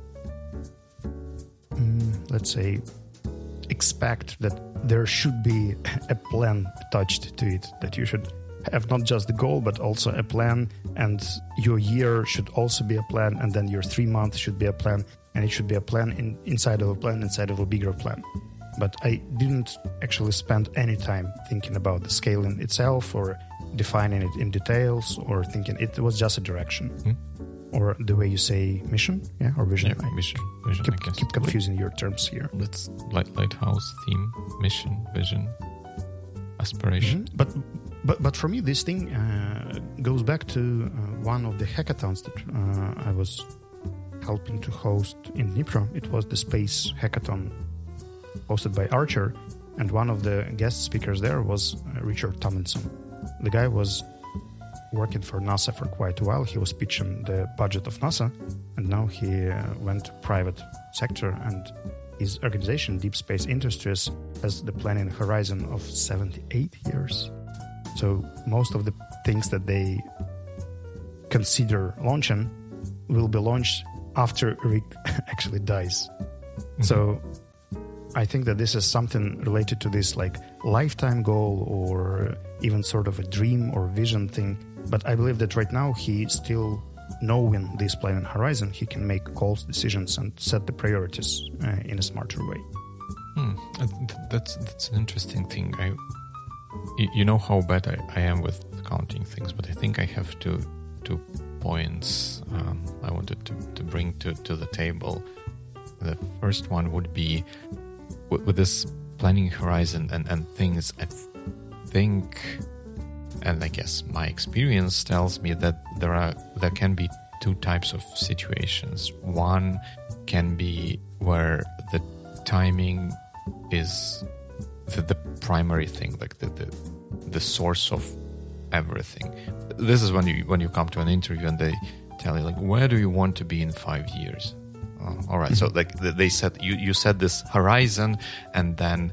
mm, let's say, expect that there should be a plan attached to it, that you should have not just the goal, but also a plan, and your year should also be a plan, and then your three months should be a plan, and it should be a plan in, inside of a plan, inside of a bigger plan. But I didn't actually spend any time thinking about the scaling itself or defining it in details or thinking it was just a direction. Mm. Or the way you say mission, yeah, or vision. Yeah, I mission, vision, keep, I guess. keep confusing your terms here. Let's light, lighthouse, theme, mission, vision, aspiration. Mm-hmm. But but but for me, this thing uh, goes back to uh, one of the hackathons that uh, I was helping to host in Dnipro. It was the Space Hackathon hosted by Archer, and one of the guest speakers there was uh, Richard Tomlinson. The guy was working for NASA for quite a while. He was pitching the budget of NASA, and now he uh, went to private sector, and his organization, Deep Space Industries, has the planning horizon of seventy-eight years. So most of the things that they consider launching will be launched after Rick actually dies. Mm-hmm. So I think that this is something related to this like lifetime goal or even sort of a dream or vision thing. But I believe that right now he still knowing this planning horizon, he can make calls, decisions, and set the priorities uh, in a smarter way. Hmm. That's that's an interesting thing. I, you know how bad I, I am with counting things, but I think I have two two points um, I wanted to, to bring to, to the table. The first one would be with, with this planning horizon and, and things, I think, and I guess my experience tells me that there are there can be two types of situations. One can be where the timing is the, the primary thing, like the, the the source of everything. This is when you when you come to an interview and they tell you like, where do you want to be in five years? Oh, all right, so like they said, you you set this horizon, and then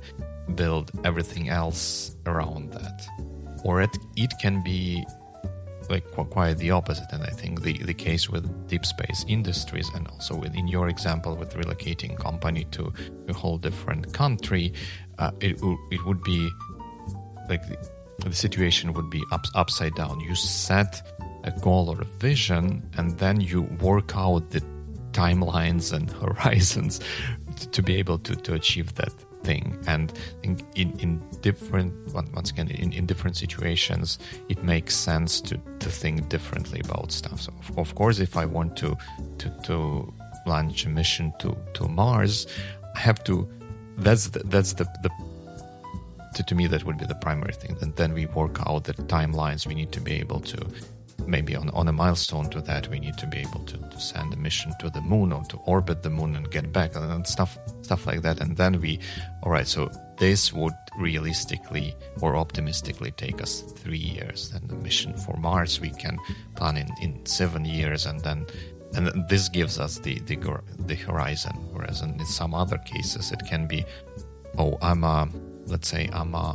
build everything else around that. Or it, it can be like quite the opposite. And I think the, the case with Deep Space Industries, and also with, in your example with relocating company to a whole different country, uh, it, it would be like the, the situation would be up, upside down. You set a goal or a vision, and then you work out the timelines and horizons to, to be able to, to achieve that thing. And in, in, in different, once again, in, in different situations, it makes sense to, to think differently about stuff. So of, of course, if I want to, to, to launch a mission to, to Mars, I have to, that's the, that's the, the to, to me, that would be the primary thing. And then we work out the timelines. We need to be able to, maybe on, on a milestone to that, we need to be able to, to send a mission to the moon or to orbit the moon and get back and stuff stuff like that. And then we, all right, so this would realistically or optimistically take us three years. And the mission for Mars, we can plan in, in seven years. And then and this gives us the, the, the horizon. Whereas in some other cases, it can be, oh, I'm a, let's say I'm a,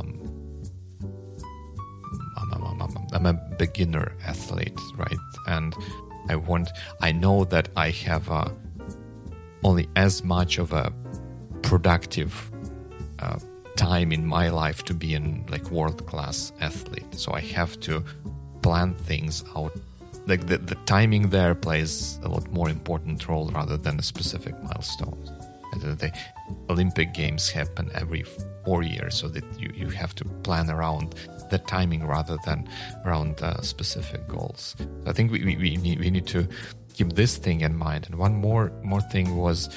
I'm, I'm, I'm, I'm a beginner athlete, right? And I want, I know that I have uh, only as much of a productive uh, time in my life to be an like world-class athlete. So I have to plan things out. Like the, the timing there plays a lot more important role rather than a specific milestone. The Olympic Games happen every four years, so that you, you have to plan around the timing rather than around uh, specific goals. So I think we, we, we, need, we need to keep this thing in mind. And one more more thing was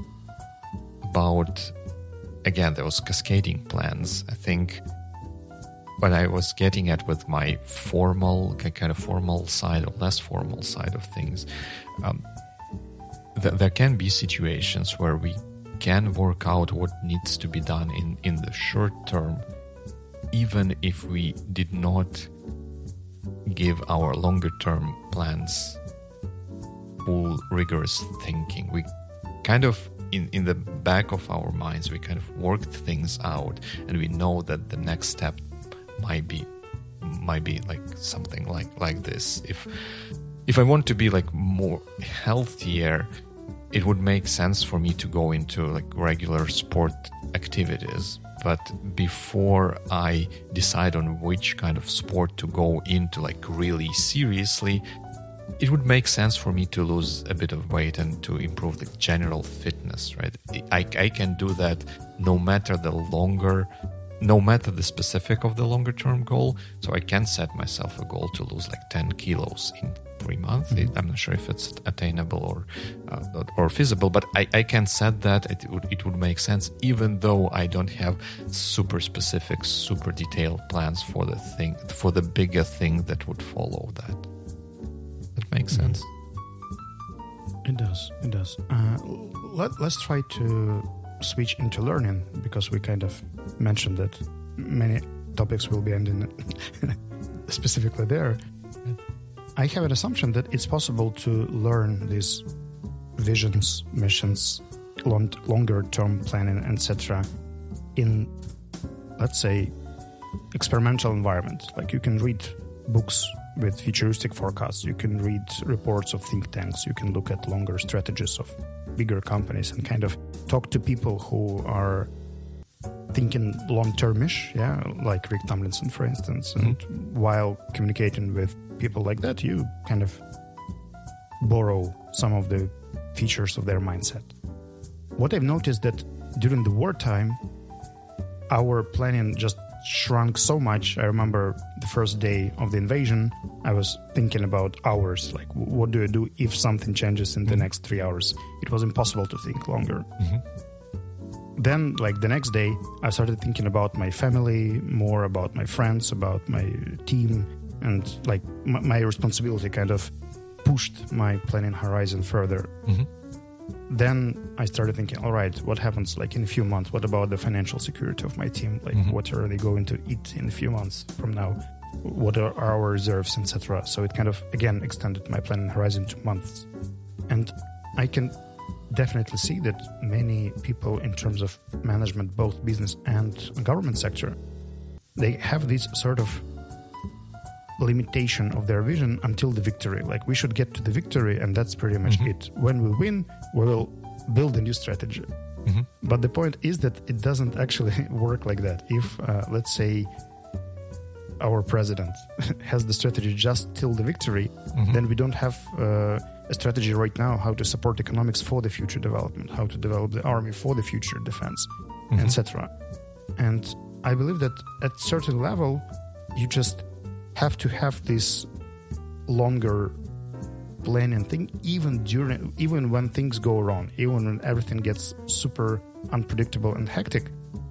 about, again, those cascading plans. I think what I was getting at with my formal, kind of formal side or less formal side of things, um, th- there can be situations where we can work out what needs to be done in, in the short term, even if we did not give our longer term plans full rigorous thinking. We kind of, in, in the back of our minds, we kind of worked things out, and we know that the next step might be might be like something like like this. If if I want to be like more healthier, it would make sense for me to go into like regular sport activities. But before I decide on which kind of sport to go into like really seriously, it would make sense for me to lose a bit of weight and to improve the general fitness, right? I, I can do that no matter the longer, no matter the specific of the longer term goal. So I can set myself a goal to lose like ten kilos in three months. Mm-hmm. I'm not sure if it's attainable or uh, or feasible, but I, I can set that. It would it would make sense, even though I don't have super specific, super detailed plans for the thing, for the bigger thing that would follow that. That makes mm-hmm. sense. It does. It does. Uh, let, let's try to switch into learning, because we kind of mentioned that many topics will be ending specifically there. I have an assumption that it's possible to learn these visions, missions, long, longer-term planning, et cetera in, let's say, experimental environment. Like you can read books with futuristic forecasts, you can read reports of think tanks, you can look at longer strategies of bigger companies and kind of talk to people who are thinking long-termish, yeah, like Rick Tomlinson, for instance. Mm-hmm. And while communicating with people like that, you kind of borrow some of the features of their mindset. What I've noticed that during the wartime, our planning just shrunk so much. I remember the first day of the invasion, I was thinking about hours, like what do I do if something changes in mm-hmm. the next three hours? It was impossible to think longer. Mm-hmm. Then, like the next day, I started thinking about my family, more about my friends, about my team, and like m- my responsibility kind of pushed my planning horizon further. Mm-hmm. Then I started thinking, all right, what happens like in a few months? What about the financial security of my team? Like, mm-hmm. what are they going to eat in a few months from now? What are our reserves, et cetera? So it kind of, again, extended my planning horizon to months. And I can definitely see that many people in terms of management, both business and government sector, they have this sort of limitation of their vision until the victory. Like, we should get to the victory and that's pretty much mm-hmm. it. When we win, we will build a new strategy. Mm-hmm. But the point is that it doesn't actually work like that. If, uh, let's say, our president has the strategy just till the victory, mm-hmm. then we don't have uh, a strategy right now how to support economics for the future development, how to develop the army for the future defense, mm-hmm. et cetera. And I believe that at certain level, you just have to have this longer planning thing, even during, even when things go wrong, even when everything gets super unpredictable and hectic.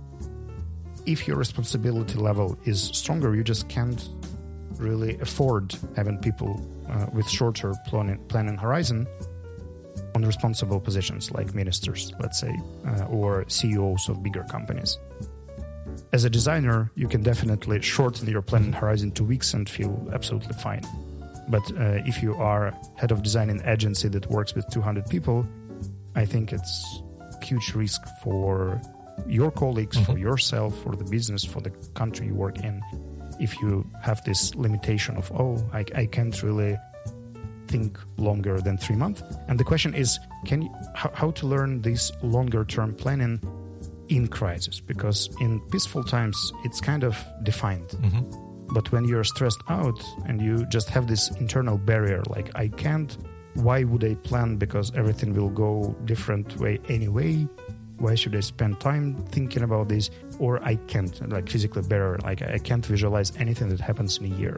If your responsibility level is stronger, you just can't really afford having people uh, with shorter planning, planning horizon on responsible positions like ministers, let's say, uh, or C E Os of bigger companies. As a designer, you can definitely shorten your planning horizon to weeks and feel absolutely fine. But uh, if you are head of design in an agency that works with two hundred people, I think it's a huge risk for your colleagues, mm-hmm. for yourself, for the business, for the country you work in, if you have this limitation of, oh, I, I can't really think longer than three months. And the question is, can you, how, how to learn this longer term planning in crisis? Because in peaceful times, it's kind of defined. Mm-hmm. But when you're stressed out and you just have this internal barrier, like, I can't, why would I plan? Because everything will go different way anyway. Why should I spend time thinking about this? Or I can't, like, physically better, like, I can't visualize anything that happens in a year.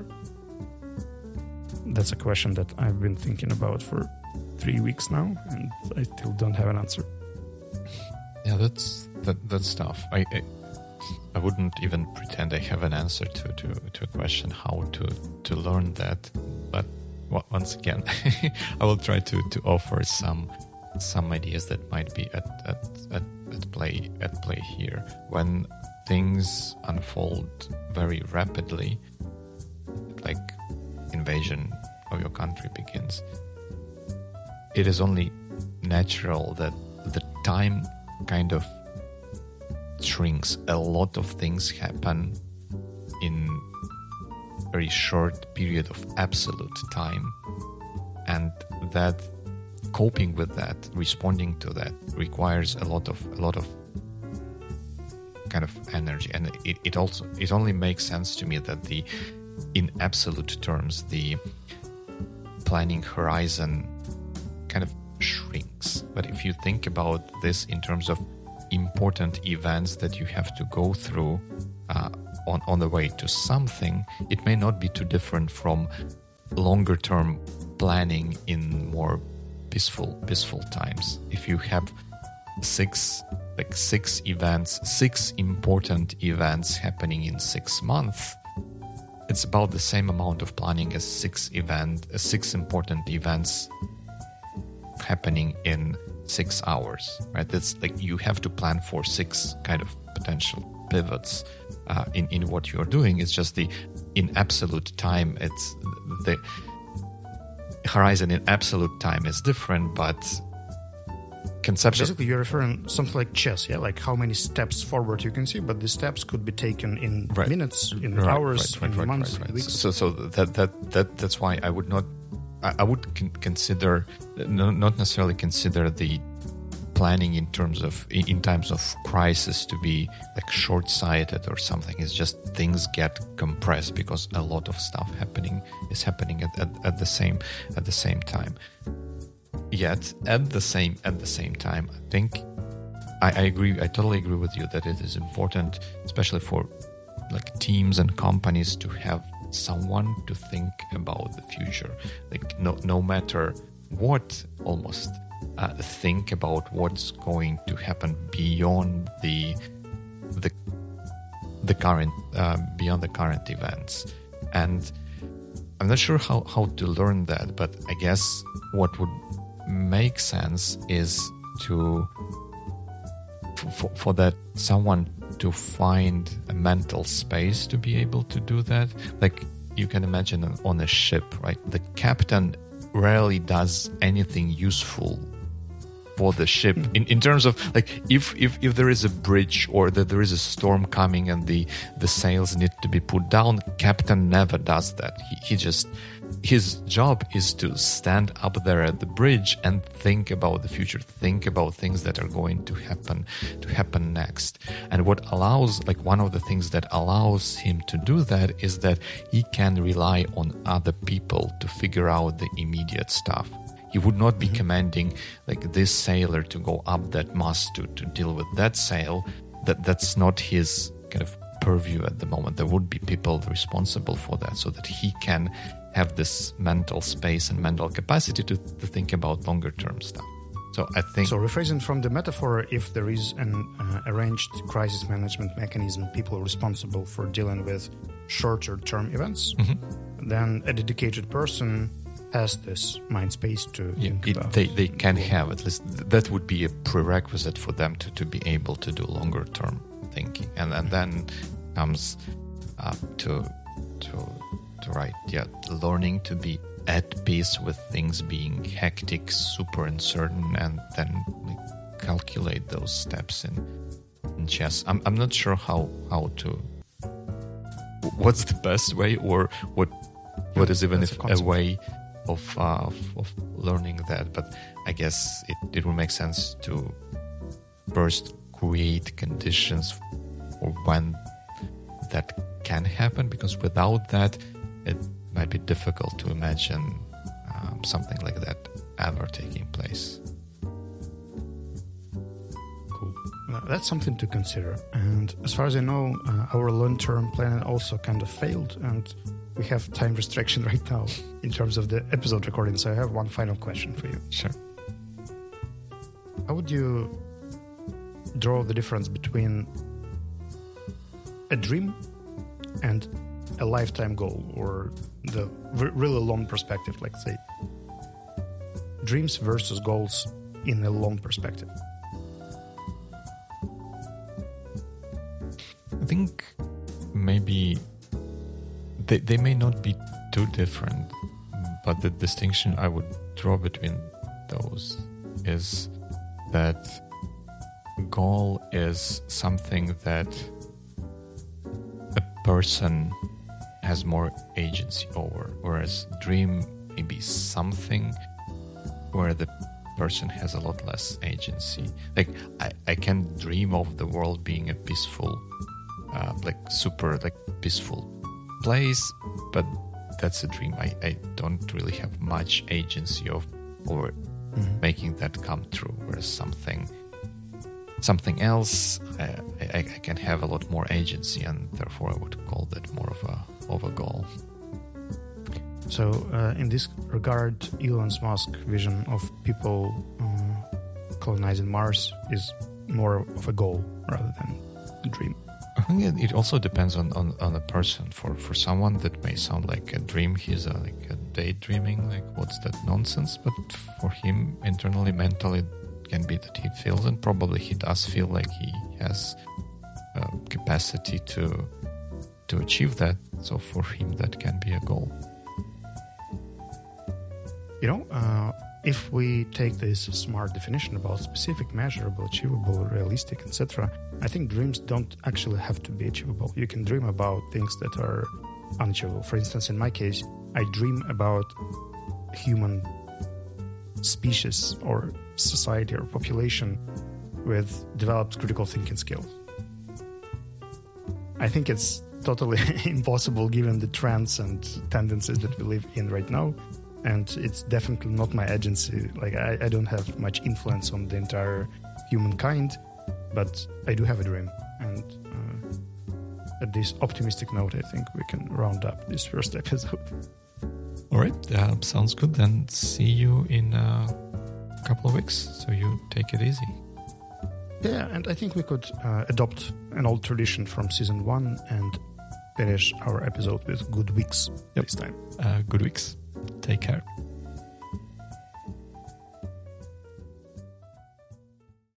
That's a question that I've been thinking about for three weeks now, and I still don't have an answer. Yeah, that's that, that's tough. I, I I wouldn't even pretend I have an answer to, to, to a question how to, to learn that. But once again, I will try to, to offer some some ideas that might be at, at, at, at play at play here. When things unfold very rapidly, like invasion of your country begins, it is only natural that the time kind of shrinks. A lot of things happen in a very short period of absolute time, and that coping with that, responding to that, requires a lot of a lot of kind of energy. And it, it also it only makes sense to me that the in absolute terms the planning horizon kind of shrinks. But if you think about this in terms of important events that you have to go through uh, on, on the way to something, it may not be too different from longer term planning in more peaceful peaceful times. If you have six like six events, six important events happening in six months, it's about the same amount of planning as six event, uh, six important events happening in six hours, right? That's like you have to plan for six kind of potential pivots uh, in in what you're doing. It's just the in absolute time. It's the horizon in absolute time is different, but conceptually, basically you're referring something like chess, yeah, like how many steps forward you can see, but the steps could be taken in right. minutes, in right, hours, right, right, in right, months, right, right. in weeks. So, so that that that that's why I would not. I would con- consider, not necessarily consider the planning in terms of, in times of crisis to be like short-sighted or something. It's just things get compressed because a lot of stuff happening is happening at, at, at the same at the same time. Yet at the same at the same time, I think I, I agree. I totally agree with you that it is important, especially for like teams and companies, to have someone to think about the future, like no no matter what, almost uh, think about what's going to happen beyond the the the current uh, beyond the current events. And I'm not sure how how to learn that, but I guess what would make sense is to for, for that someone to find a mental space to be able to do that. Like you can imagine on a ship, right? The captain rarely does anything useful for the ship. In, in terms of like if, if if there is a bridge or that there is a storm coming and the the sails need to be put down, captain never does that. He, he just his job is to stand up there at the bridge and think about the future, think about things that are going to happen to happen next. And what allows, like one of the things that allows him to do that is that he can rely on other people to figure out the immediate stuff. He would not be mm-hmm. commanding like this sailor to go up that mast to, to deal with that sail. That that's not his kind of purview at the moment. There would be people responsible for that so that he can have this mental space and mental capacity to, to think about longer term stuff. So I think... So rephrasing from the metaphor, if there is an uh, arranged crisis management mechanism, people responsible for dealing with shorter term events, mm-hmm. then a dedicated person has this mind space to yeah, think it, about. They, they can have, at least that would be a prerequisite for them to, to be able to do longer term thinking. And, and then comes uh, to... to right, yeah, learning to be at peace with things being hectic, super uncertain, and then like, calculate those steps in, in chess. I'm I'm not sure how how to. What's the best way, or what what is even if a, a way of, uh, of of learning that? But I guess it it will make sense to first create conditions for when that can happen, because without that, it might be difficult to imagine um, something like that ever taking place. Cool. Uh, that's something to consider. And as far as I know, uh, our long-term plan also kind of failed, and we have time restriction right now in terms of the episode recording. So I have one final question for you. Sure. How would you draw the difference between a dream and a lifetime goal, or the r- really long perspective, like say dreams versus goals in a long perspective? I think maybe they, they may not be too different, but the distinction I would draw between those is that goal is something that a person has more agency over, whereas dream may be something where the person has a lot less agency. Like I, I can dream of the world being a peaceful, uh, like super like peaceful place, but that's a dream. I, I don't really have much agency of over mm-hmm. making that come true. Whereas something something else, uh, I, I can have a lot more agency, and therefore I would call that more of a of a goal. So uh, in this regard, Elon Musk's vision of people uh, colonizing Mars is more of a goal rather than a dream. I think it, it also depends on, on, on a person. For for someone that may sound like a dream, he's a, like a daydreaming, like what's that nonsense? But for him, internally, mentally, it can be that he feels, and probably he does feel like he has uh, capacity to to achieve that. So for him, that can be a goal. You know, uh, if we take this smart definition about specific, measurable, achievable, realistic, et cetera, I think dreams don't actually have to be achievable. You can dream about things that are unachievable. For instance, in my case, I dream about human species or society or population with developed critical thinking skills. I think it's totally impossible given the trends and tendencies that we live in right now. And it's definitely not my agency. Like I, I don't have much influence on the entire humankind, but I do have a dream. And uh, at this optimistic note, I think we can round up this first episode. All right, uh, sounds good. Then see you in a couple of weeks. So you take it easy. Yeah, and I think we could uh, adopt an old tradition from season one and finish our episode with good weeks yep. this time. Uh, good weeks. Take care.